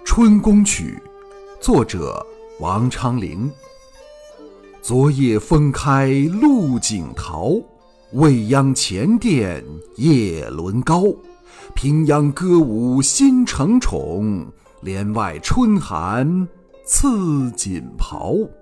春宫曲》，作者王昌龄。昨夜风开露井桃，未央前殿叶轮高。平阳歌舞新承宠，帘外春寒赐锦袍。